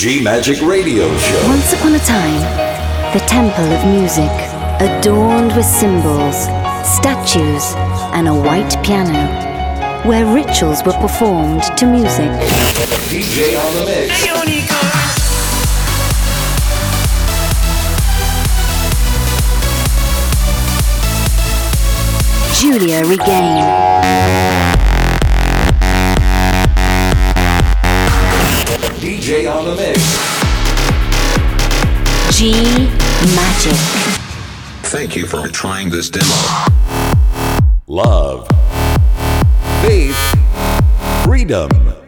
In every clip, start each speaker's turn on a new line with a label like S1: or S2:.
S1: G-Magic Radio Show.
S2: Once upon a time, the temple of music, adorned with symbols, statues, and a white piano, where rituals were performed to music.
S1: DJ on the mix.
S2: Giulia Regain.
S1: DJ on the mix.
S2: G-Magic.
S3: Thank you for trying this demo.
S1: Love. Faith. Freedom.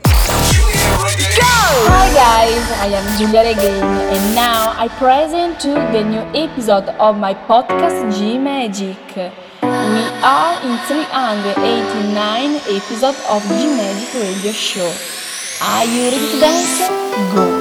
S4: Hi guys, I am Giulia Regain and now I present to the new episode of my podcast G-Magic. We are in 389 episode of G-Magic Radio Show. Are you ready to dance? Go!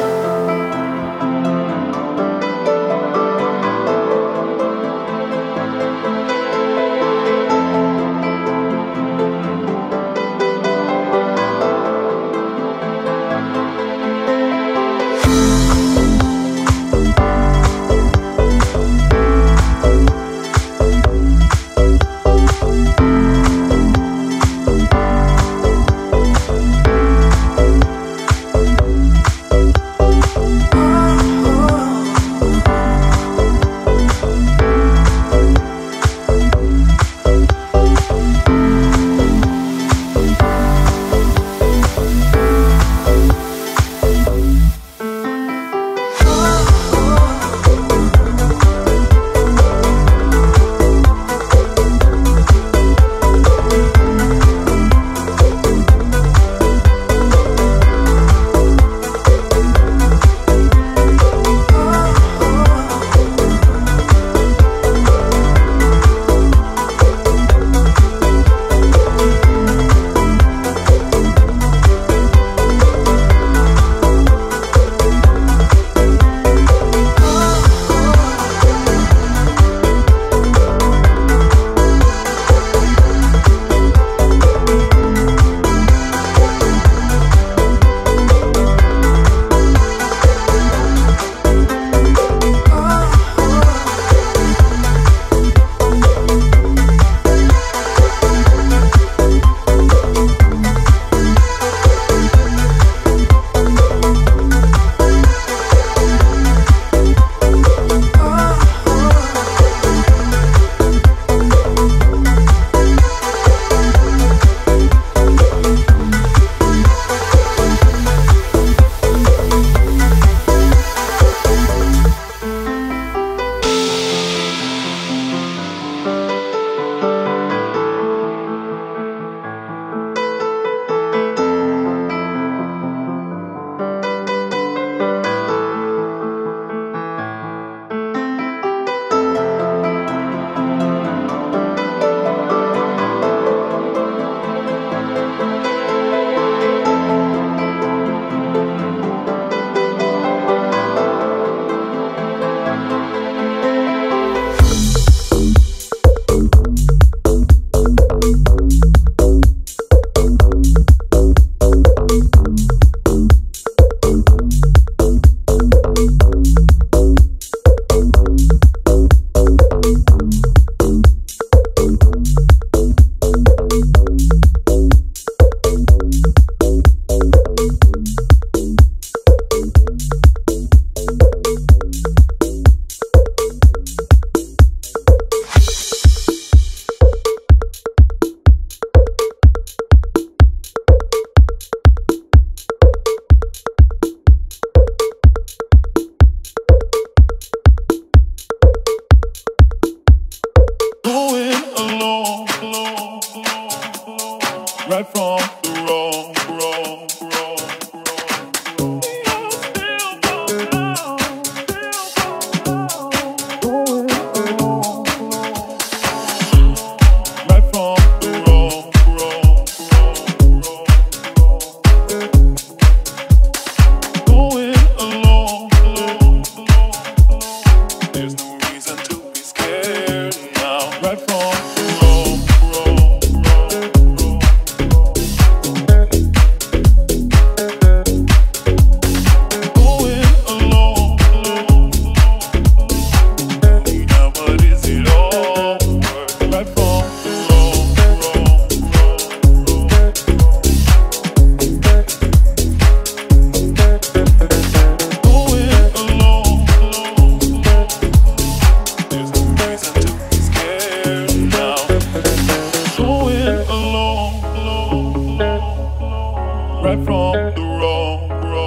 S5: right from the wrong.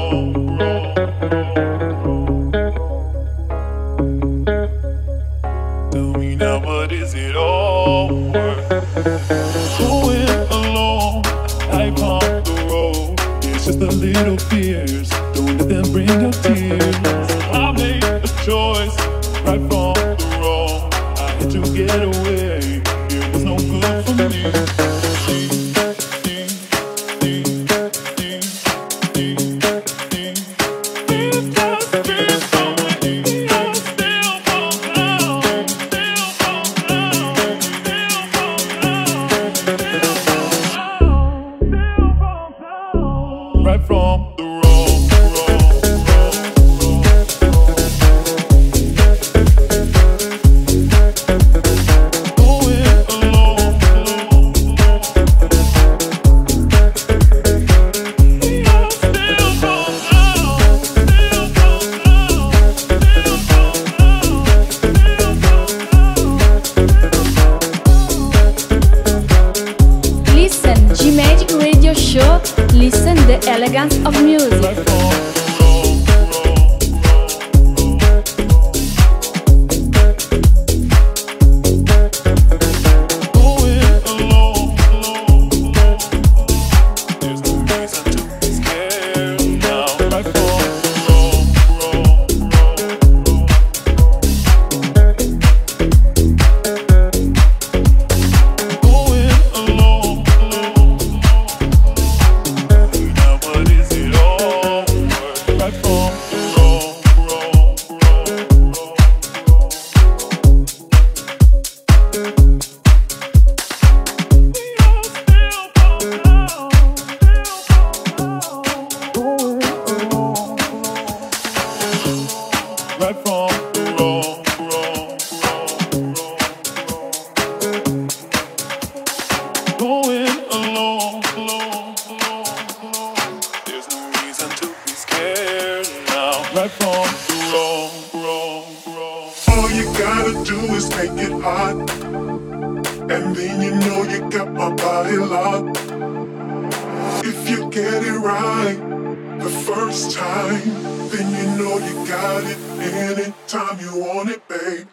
S5: Tell me now, what is it all worth? Going alone, life on the road. It's just a little fears. Don't let them bring your tears. I made a choice, right from the wrong. I had to get away. It was no good for me. Right from the wrong. Going alone. We are still from
S4: Listen G-Magic Radio Show. Listen the elegance of music.
S5: right from going alone. There's no reason to be scared now. Right from going alone. Now what is it all worth? Right from right from the wrong. Going alone. There's no reason to be scared now. Right from the wrong.
S6: All you gotta do is make it hot, and then you know you got my body locked. If you get it right the first time, then you know you got it anytime you want it, babe.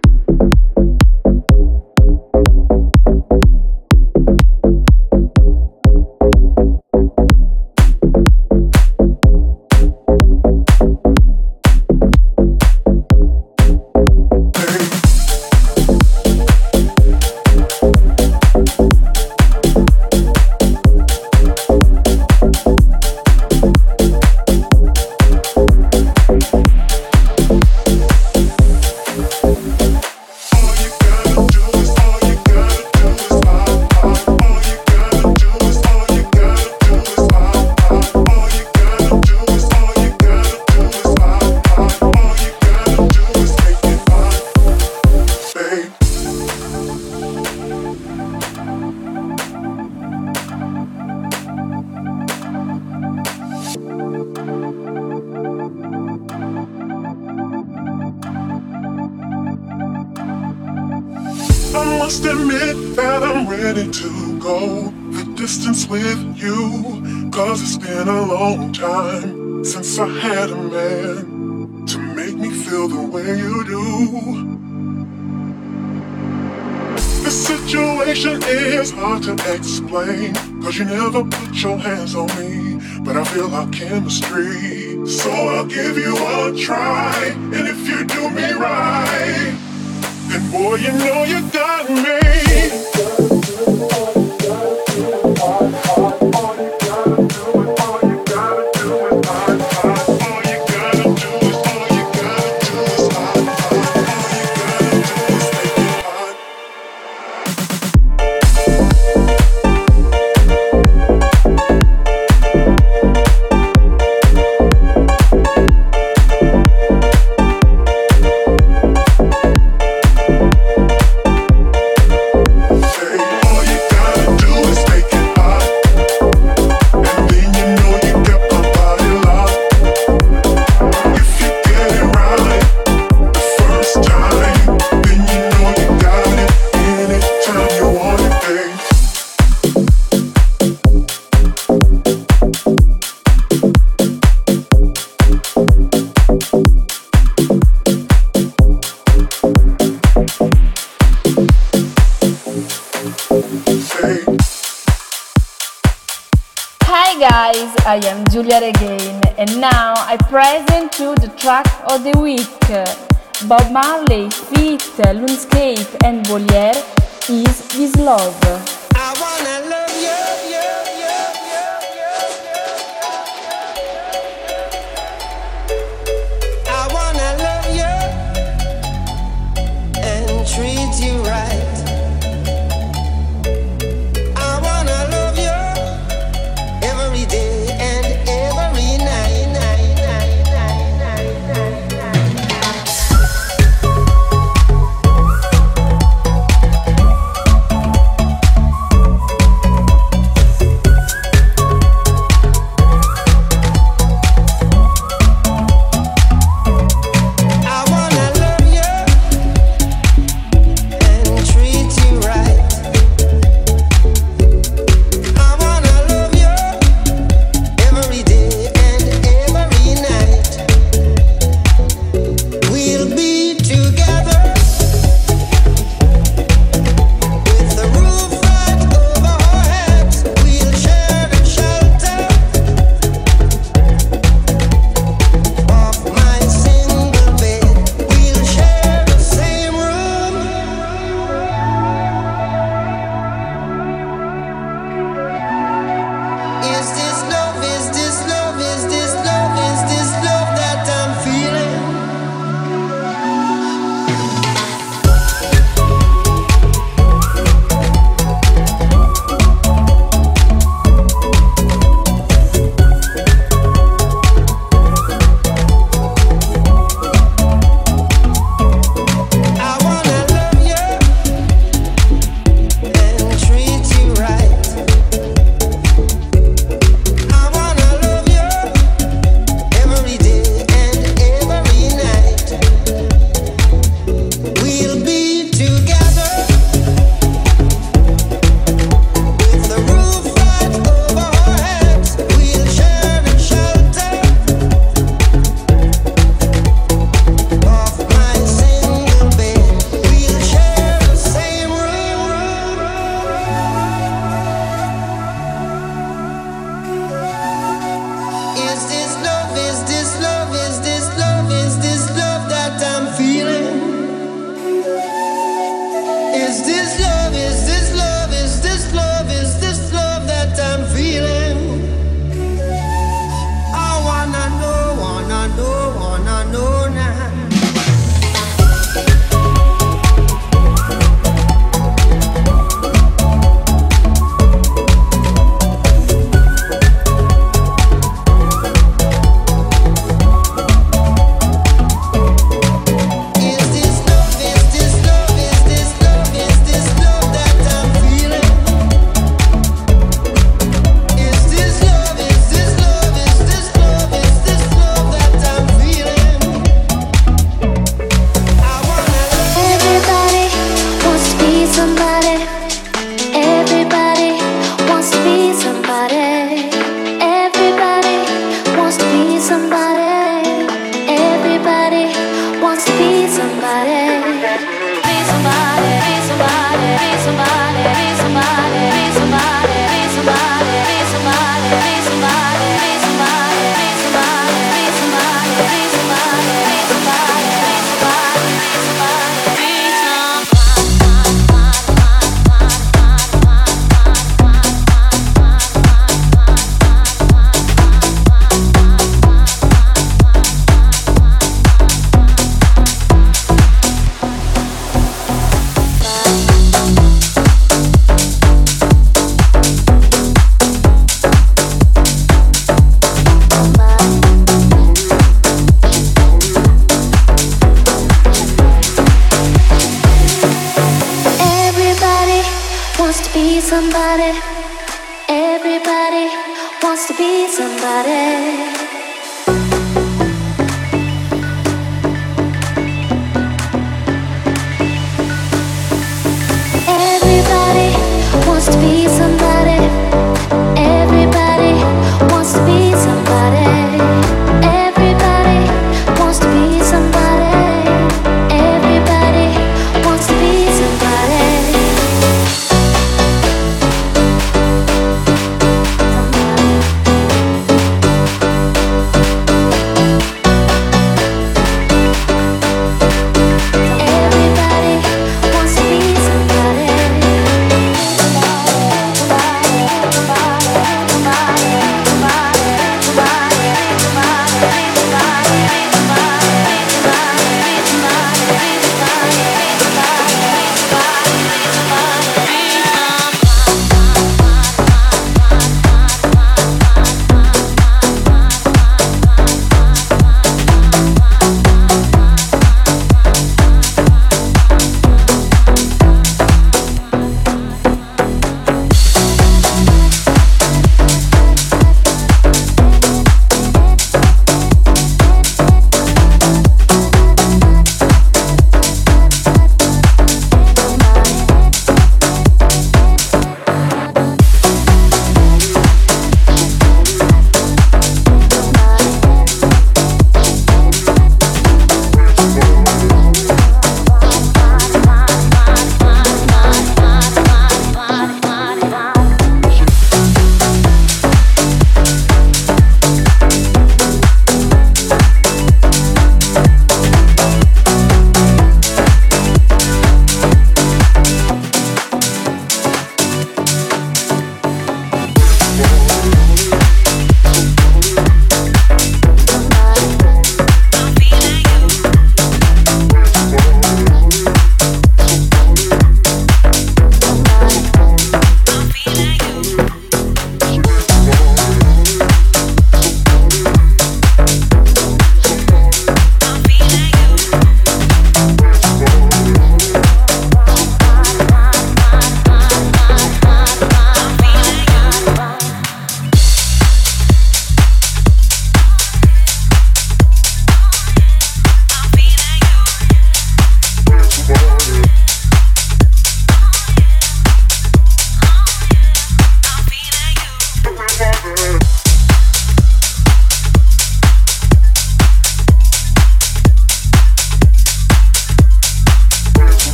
S6: I must admit that I'm ready to go the distance with you, 'cause it's been a long time since I had a man to make me feel the way you do. The situation is hard to explain, 'cause you never put your hands on me, but I feel our chemistry. So I'll give you a try, and if you do me right, then boy, you know you got me.
S4: Hi guys, I am Giulia Regain and now I present you the track of the week. Bob Marley feat. Lunescape and Voliere is This Love.
S7: I wanna love you. I wanna love you and treat you right. I wanna love you every day and every night.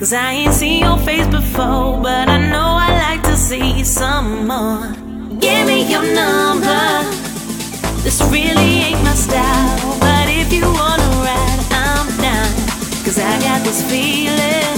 S8: 'Cause I ain't seen your face before, but I know I like to see some more. Give me your number. This really ain't my style, but if you wanna ride, I'm down. 'Cause I got this feeling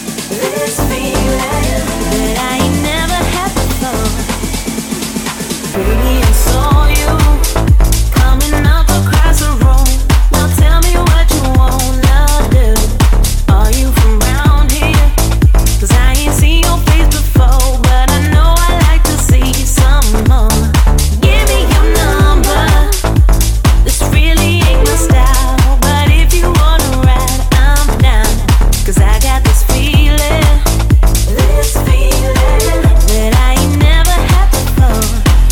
S8: that I ain't never had before. Baby, I saw you coming up across the room. Now tell me what you wanna do. Are you from round here? 'Cause I ain't seen your face before, but I know I like to see some more. Give me your number. This really ain't my style, but if you wanna ride, I'm down. 'Cause I got this feeling that I ain't never had before.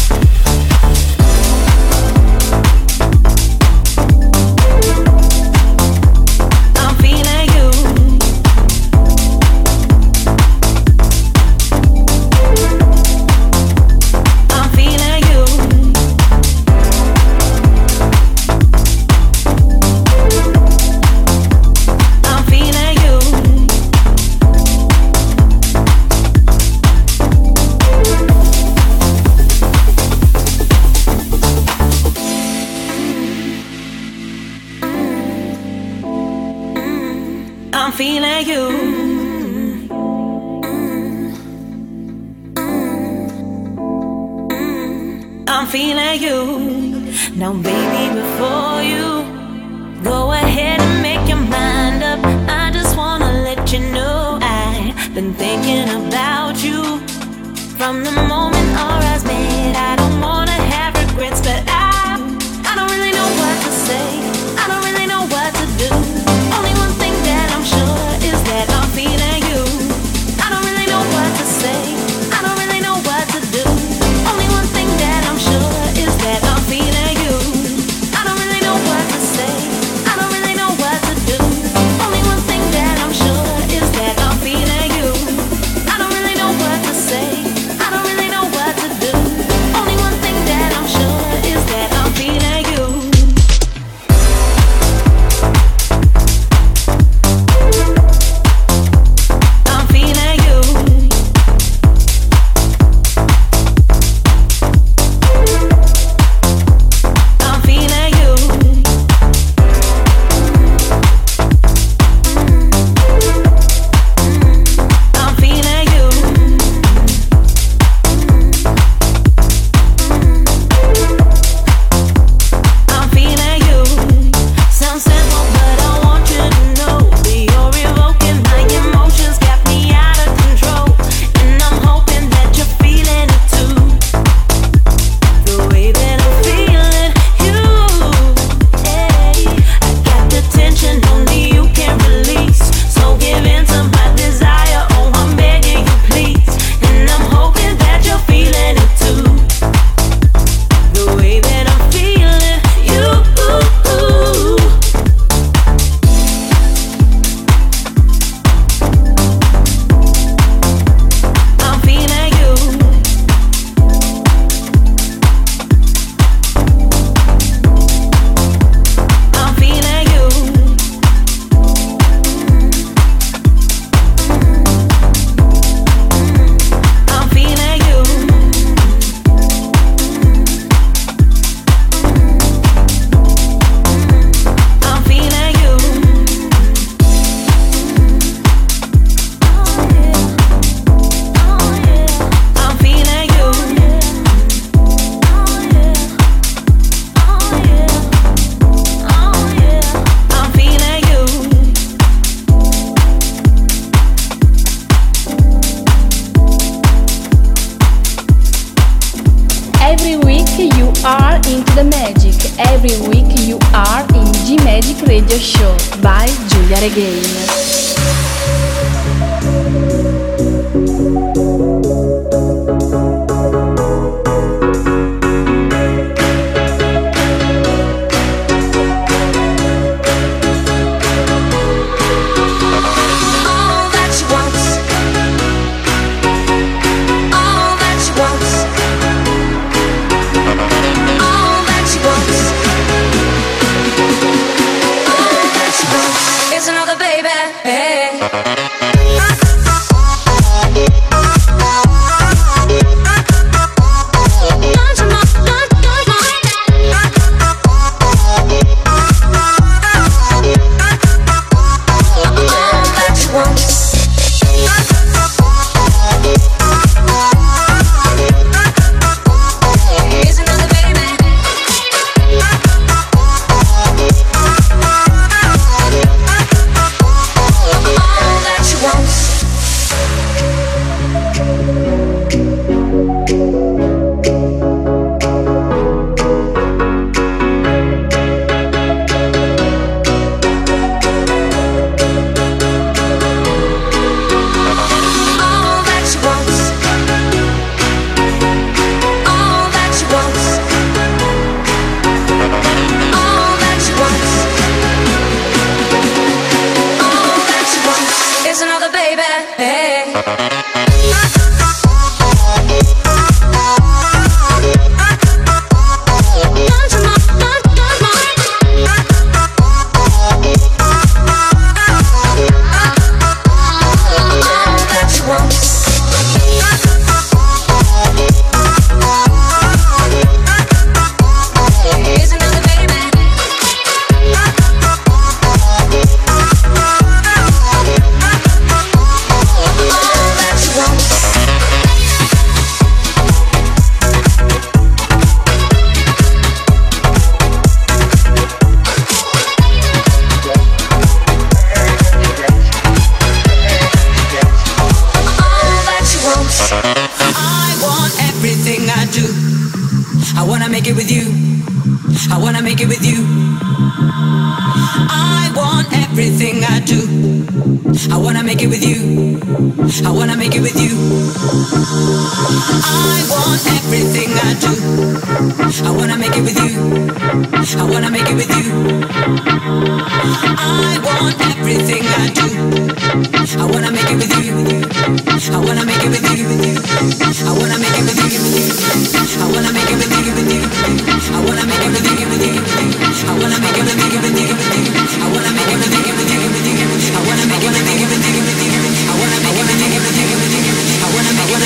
S8: I'm feeling you. I'm feeling you. I'm feeling you. I'm feeling you. I'm feeling you. Now, baby, before you go ahead and make your mind up, I just wanna let you know I've been thinking about you from the moment our eyes met. I don't wanna have regrets, but I don't really know what to say. I don't really know what to do. Only one thing that I'm sure is that I'm feeling you. I don't really know what to say. I don't really know what to do. Only one thing that I'm sure is that I'm feeling you. I don't really know what to say. I don't really know what to do. Only one thing that I'm sure is that I'm feeling you. I don't really know what to say. I don't really know what to do. Only one thing that I'm sure is that I'm feeling you. I'm feeling you. I'm feeling you. I'm feeling you. I'm feeling you. Sounds simple, but I want you to know that you're evoking my emotions, got me out of control, and I'm hoping that you're feeling it too. The way that I'm feeling you, hey, I got the tension only you can release. So give in to my desire, oh I'm begging you please, and I'm hoping that you're feeling it too. The way that I'm feeling you, I'm feeling you. I'm feeling you. I'm feeling you. I'm feeling you. I'm feeling you. I'm feeling you.
S4: Every week you are into the magic. Every week you are in G Magic Radio Show by Giulia Regain.
S7: All that she wants, all that she wants, all that she wants, all that she wants is another baby.
S8: I wanna make it with you. I wanna make it with you. I want everything I do. I wanna make it with you. I wanna make it with you. I want everything I do. I wanna make it with you. I wanna make it with you. I want everything I do. I wanna make it with you. I wanna make it with you. I wanna make it with you. I wanna make it with you. I wanna make it with you. I wanna make it with you. I wanna make it with you. I wanna make it with you. I wanna make it with you. I wanna make it with you. I wanna make it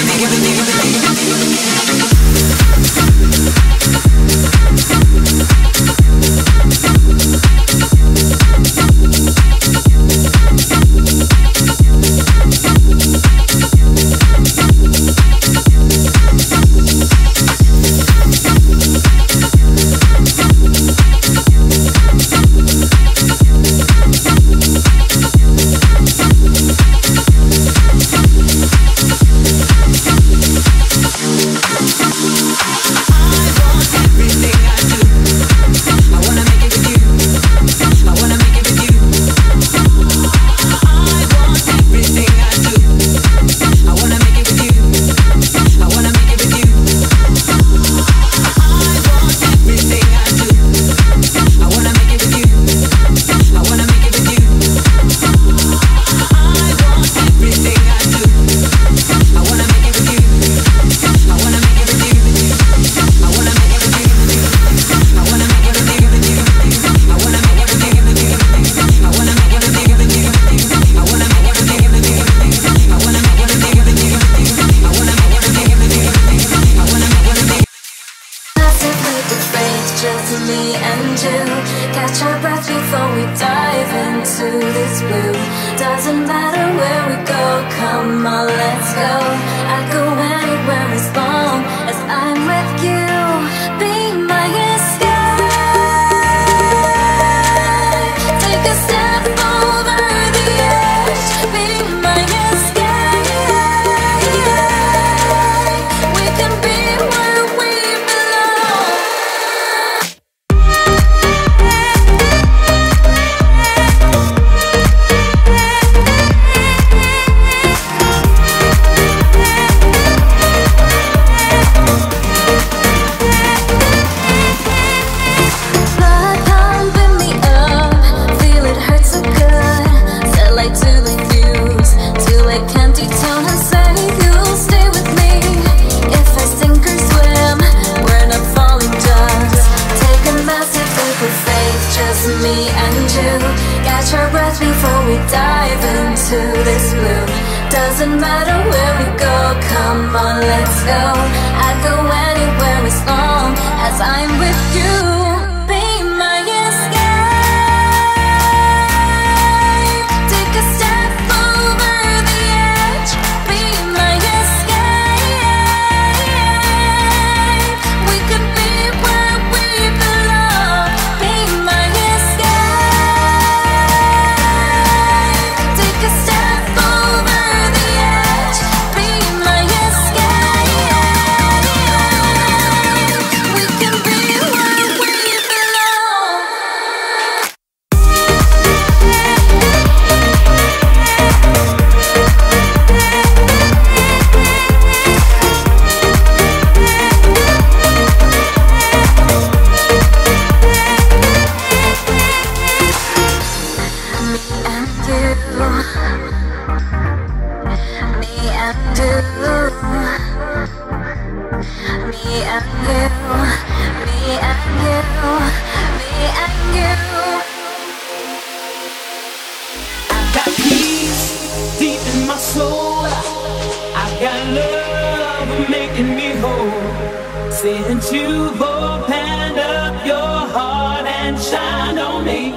S9: Since you've opened up your heart and shined on me,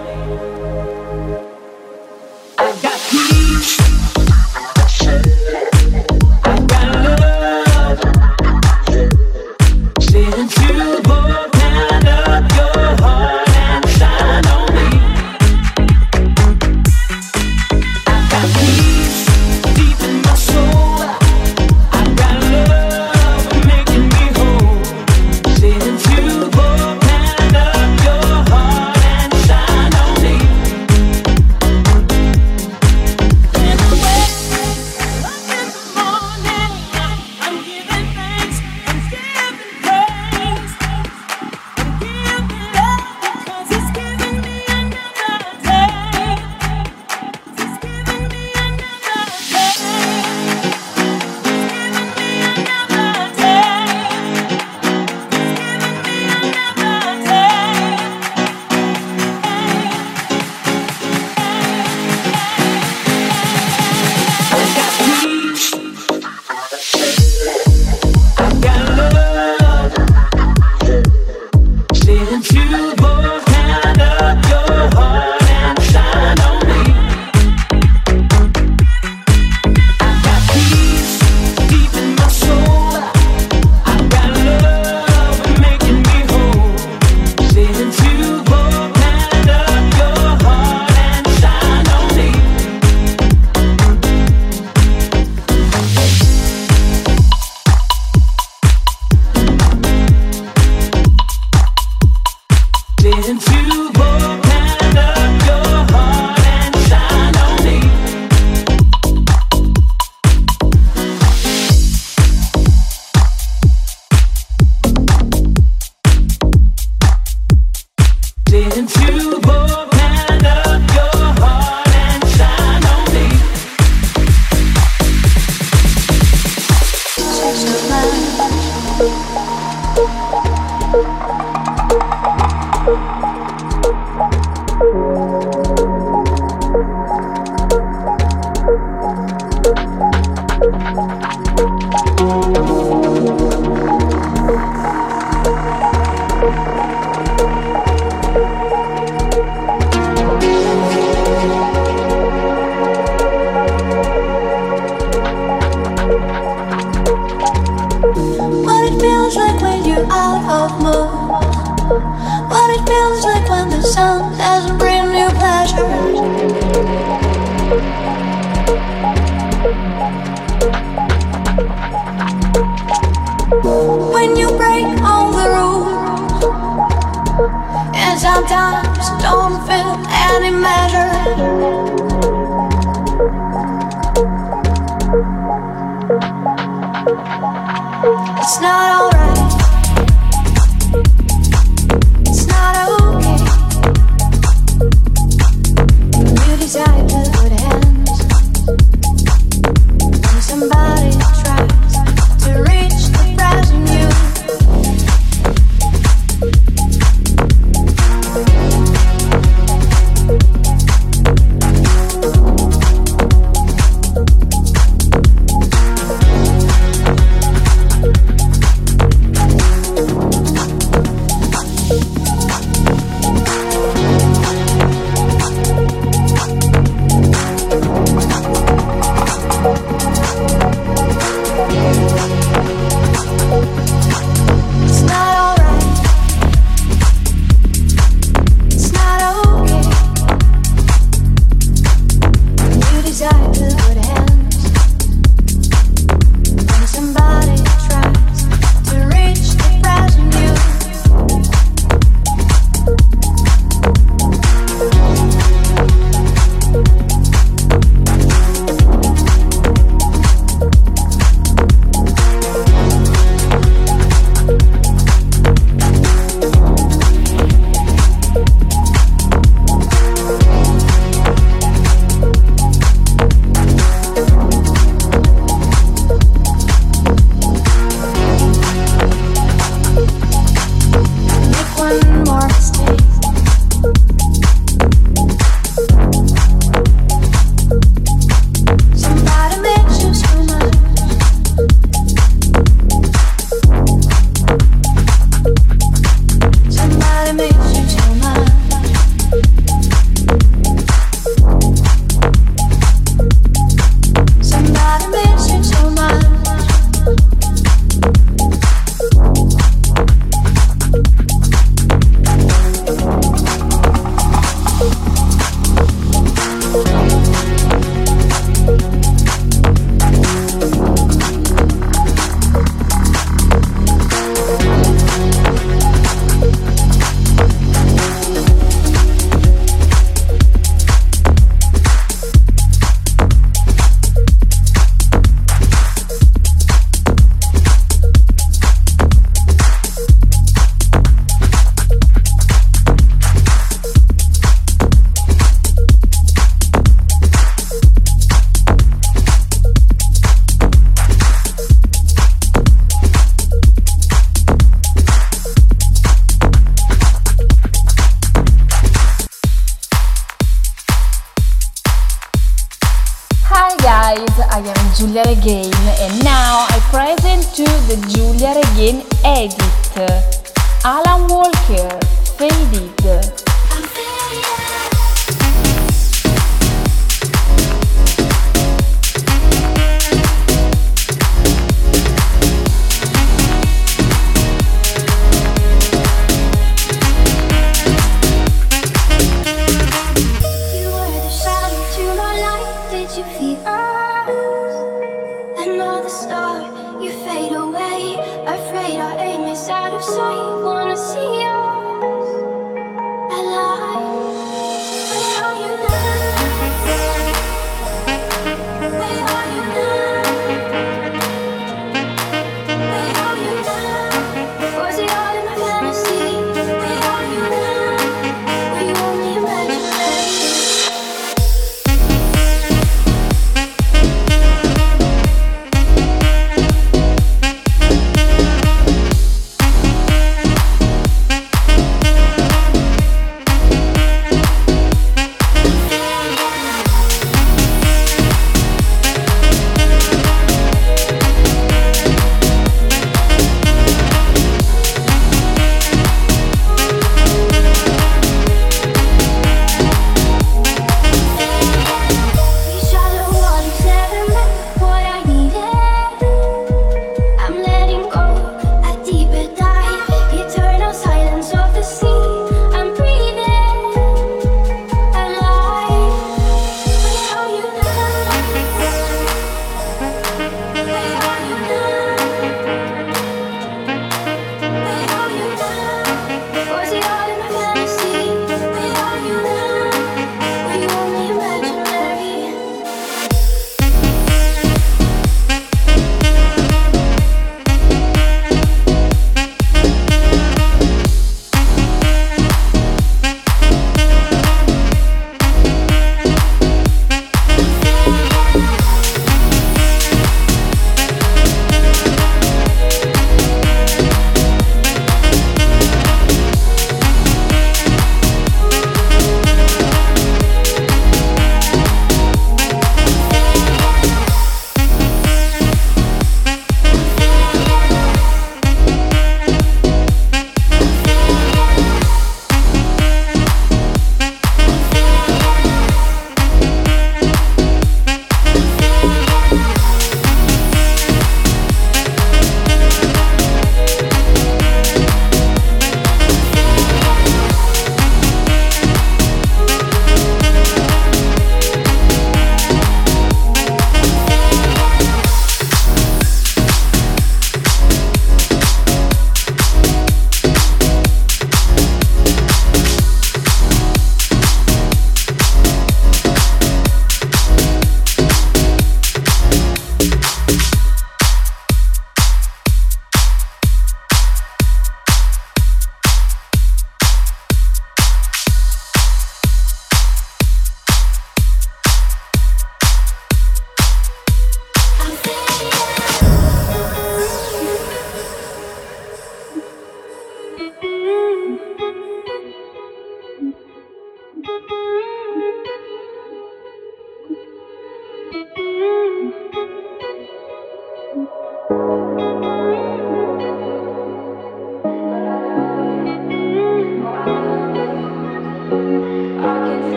S9: I got peace, I got love. Since you've opened up your heart and shined on me, I got peace deep in my soul. I got love making me whole.
S10: when you break all the rules, and sometimes don't feel any measure. It's not alright. It's not okay. You decide to put hands when somebody tries to reach the present you.
S4: I am Giulia Regain and now I present to the Giulia Regain edit. Alan Walker, Faded.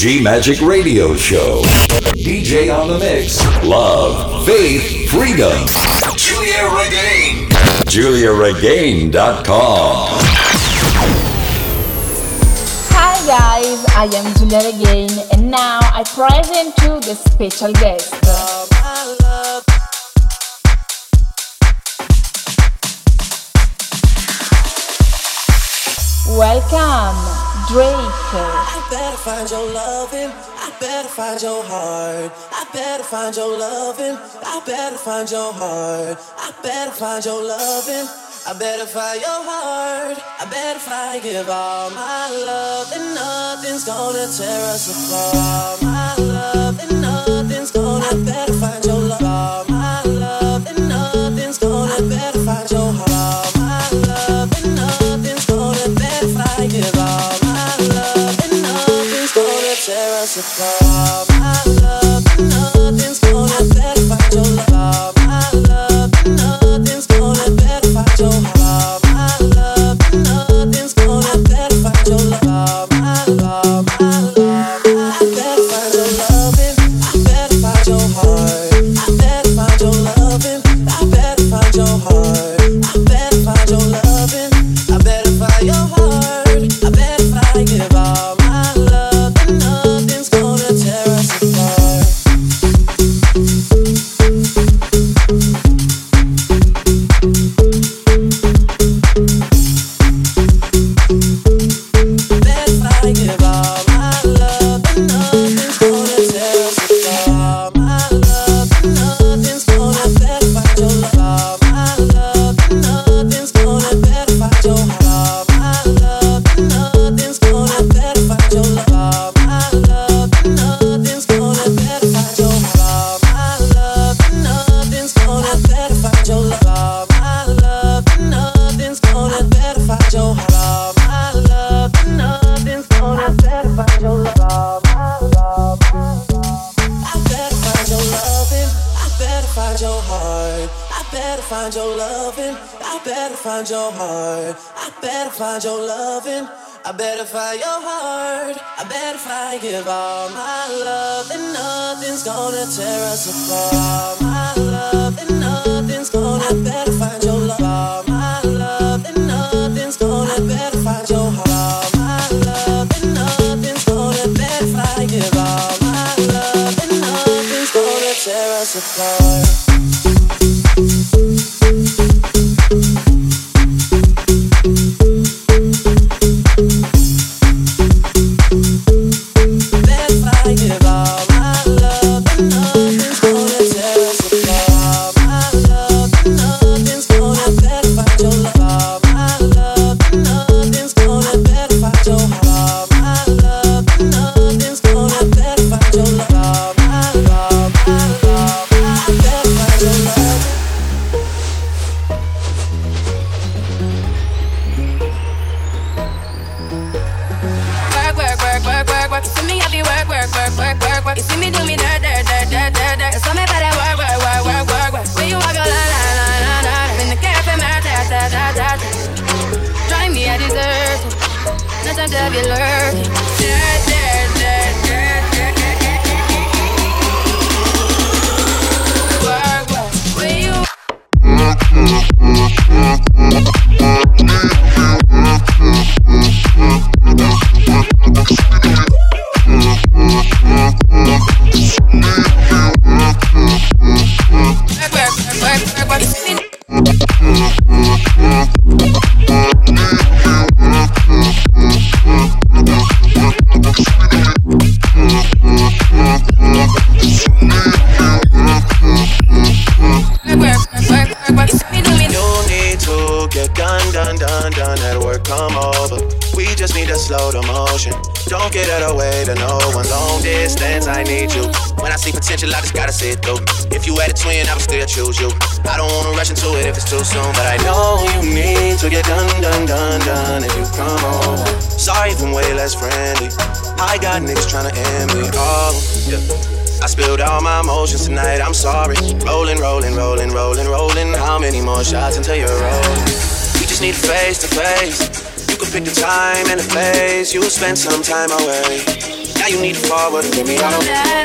S1: G Magic Radio Show. DJ on the mix. Love, faith, freedom. Julia Regain. JuliaRegain.com.
S4: Hi guys, I am Julia Regain and now I present you the special guest. Welcome, Drake.
S11: I better find your loving. I better find your heart. I better find your loving. I better find your heart. I better find your loving. I better find your heart. I better find, give all my love, and nothing's gonna tear us apart. My love, and nothing's gonna. I better find your love. All my love, and nothing's gonna. I better find your heart. My love, and nothing's gonna. Better find, give all my love, and nothing's gonna tear us apart. My love, and nothing's gonna. I better find your love. My love, and nothing's gonna. Better find your heart. My love, and nothing's gonna. Better find your love. My love, my love. I better find your loving. I better find your heart. I better find your loving. I better find your heart. I better find your loving. I better find your heart. I better find, give all my love, and nothing's gonna tear us apart. Better find, give all my love, and nothing's gonna tear us apart. My love, and nothing's gonna. Better find your love. My love, and nothing's gonna. Better find your heart. My love, and nothing's gonna. Better find your love. My love, and nothing's gonna. Better find your heart. My love, and nothing's gonna. Better find your love. My love, and nothing's gonna. Better find your heart. My love, and nothing's gonna. Better find your love. My love, I better find your loving. I better find your heart. I better find your loving. I better find your heart. I better find your loving. I better find your heart. I better find, give all my love, and nothing's gonna tear us apart. My love, and nothing's gonna. I better find your love. My love, and nothing's gonna. Better find your heart. My love, and nothing's gonna. Better find, give all my love, and nothing's gonna tear us apart. Better find, give all my love, and nothing's gonna tear us apart. My love, and nothing's gonna. Better find your love. My love, and nothing's gonna. Better find your heart. My love, and nothing's gonna. Better find your love. My love, my love. I better find your love.
S12: Work, work, work, work, work, work. You see me have you work, work, work, work, work, work. You see me do me dirt, dirt, dirt, dirt, dirt, dirt. So me better work, work, work, work, work, work. When you walk your line, line, line, line, line. In the cafe, man, ta, ta, ta, ta, ta. Drive me, I deserve it. Not time to have you lurking. Dirt, dirt, dirt, dirt, dirt, dirt. Work, work. When you work, work, work, work, work. You see me
S13: just need to slow the motion. Don't get out of the way to no one. Long distance, I need you. When I see potential, I just gotta see it through. If you had a twin, I would still choose you. I don't wanna rush into it if it's too soon, but I know you need to get done if you come over. Sorry if I'm way less friendly. I got niggas tryna end me. Oh, yeah. I spilled all my emotions tonight, I'm sorry. Rolling. How many more shots until you're rolling? We just need face to face. You can pick the time and the place. You'll spend some time away. Now you need to forward and give me all of that.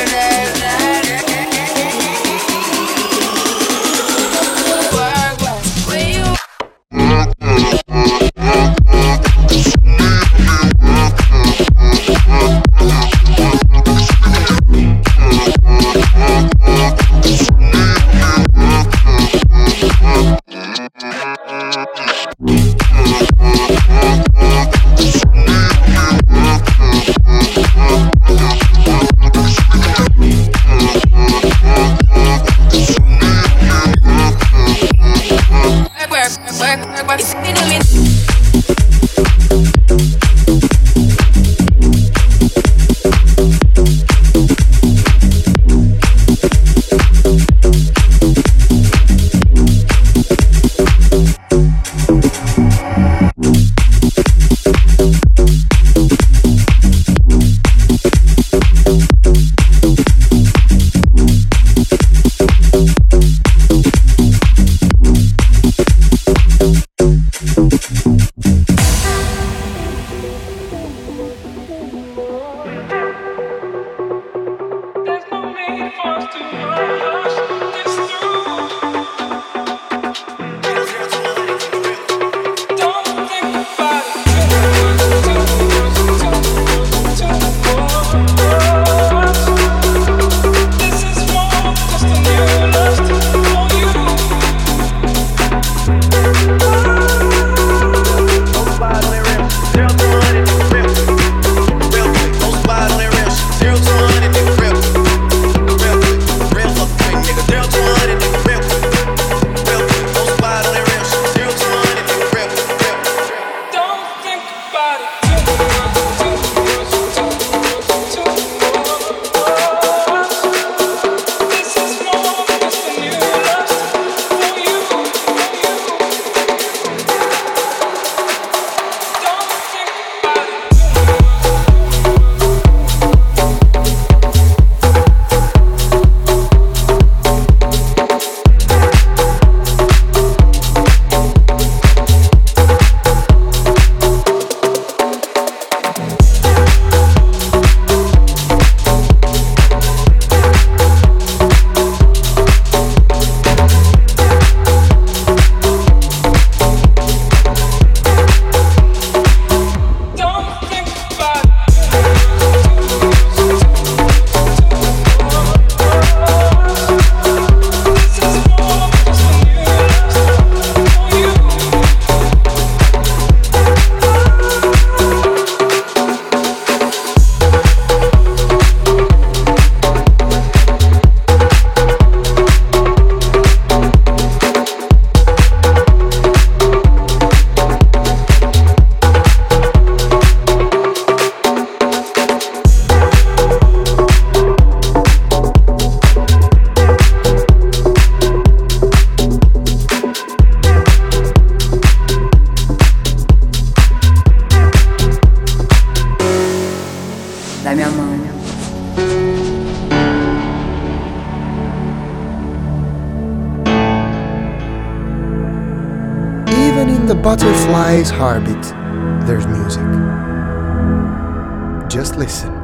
S14: the butterfly's heartbeat, there's music. Just listen.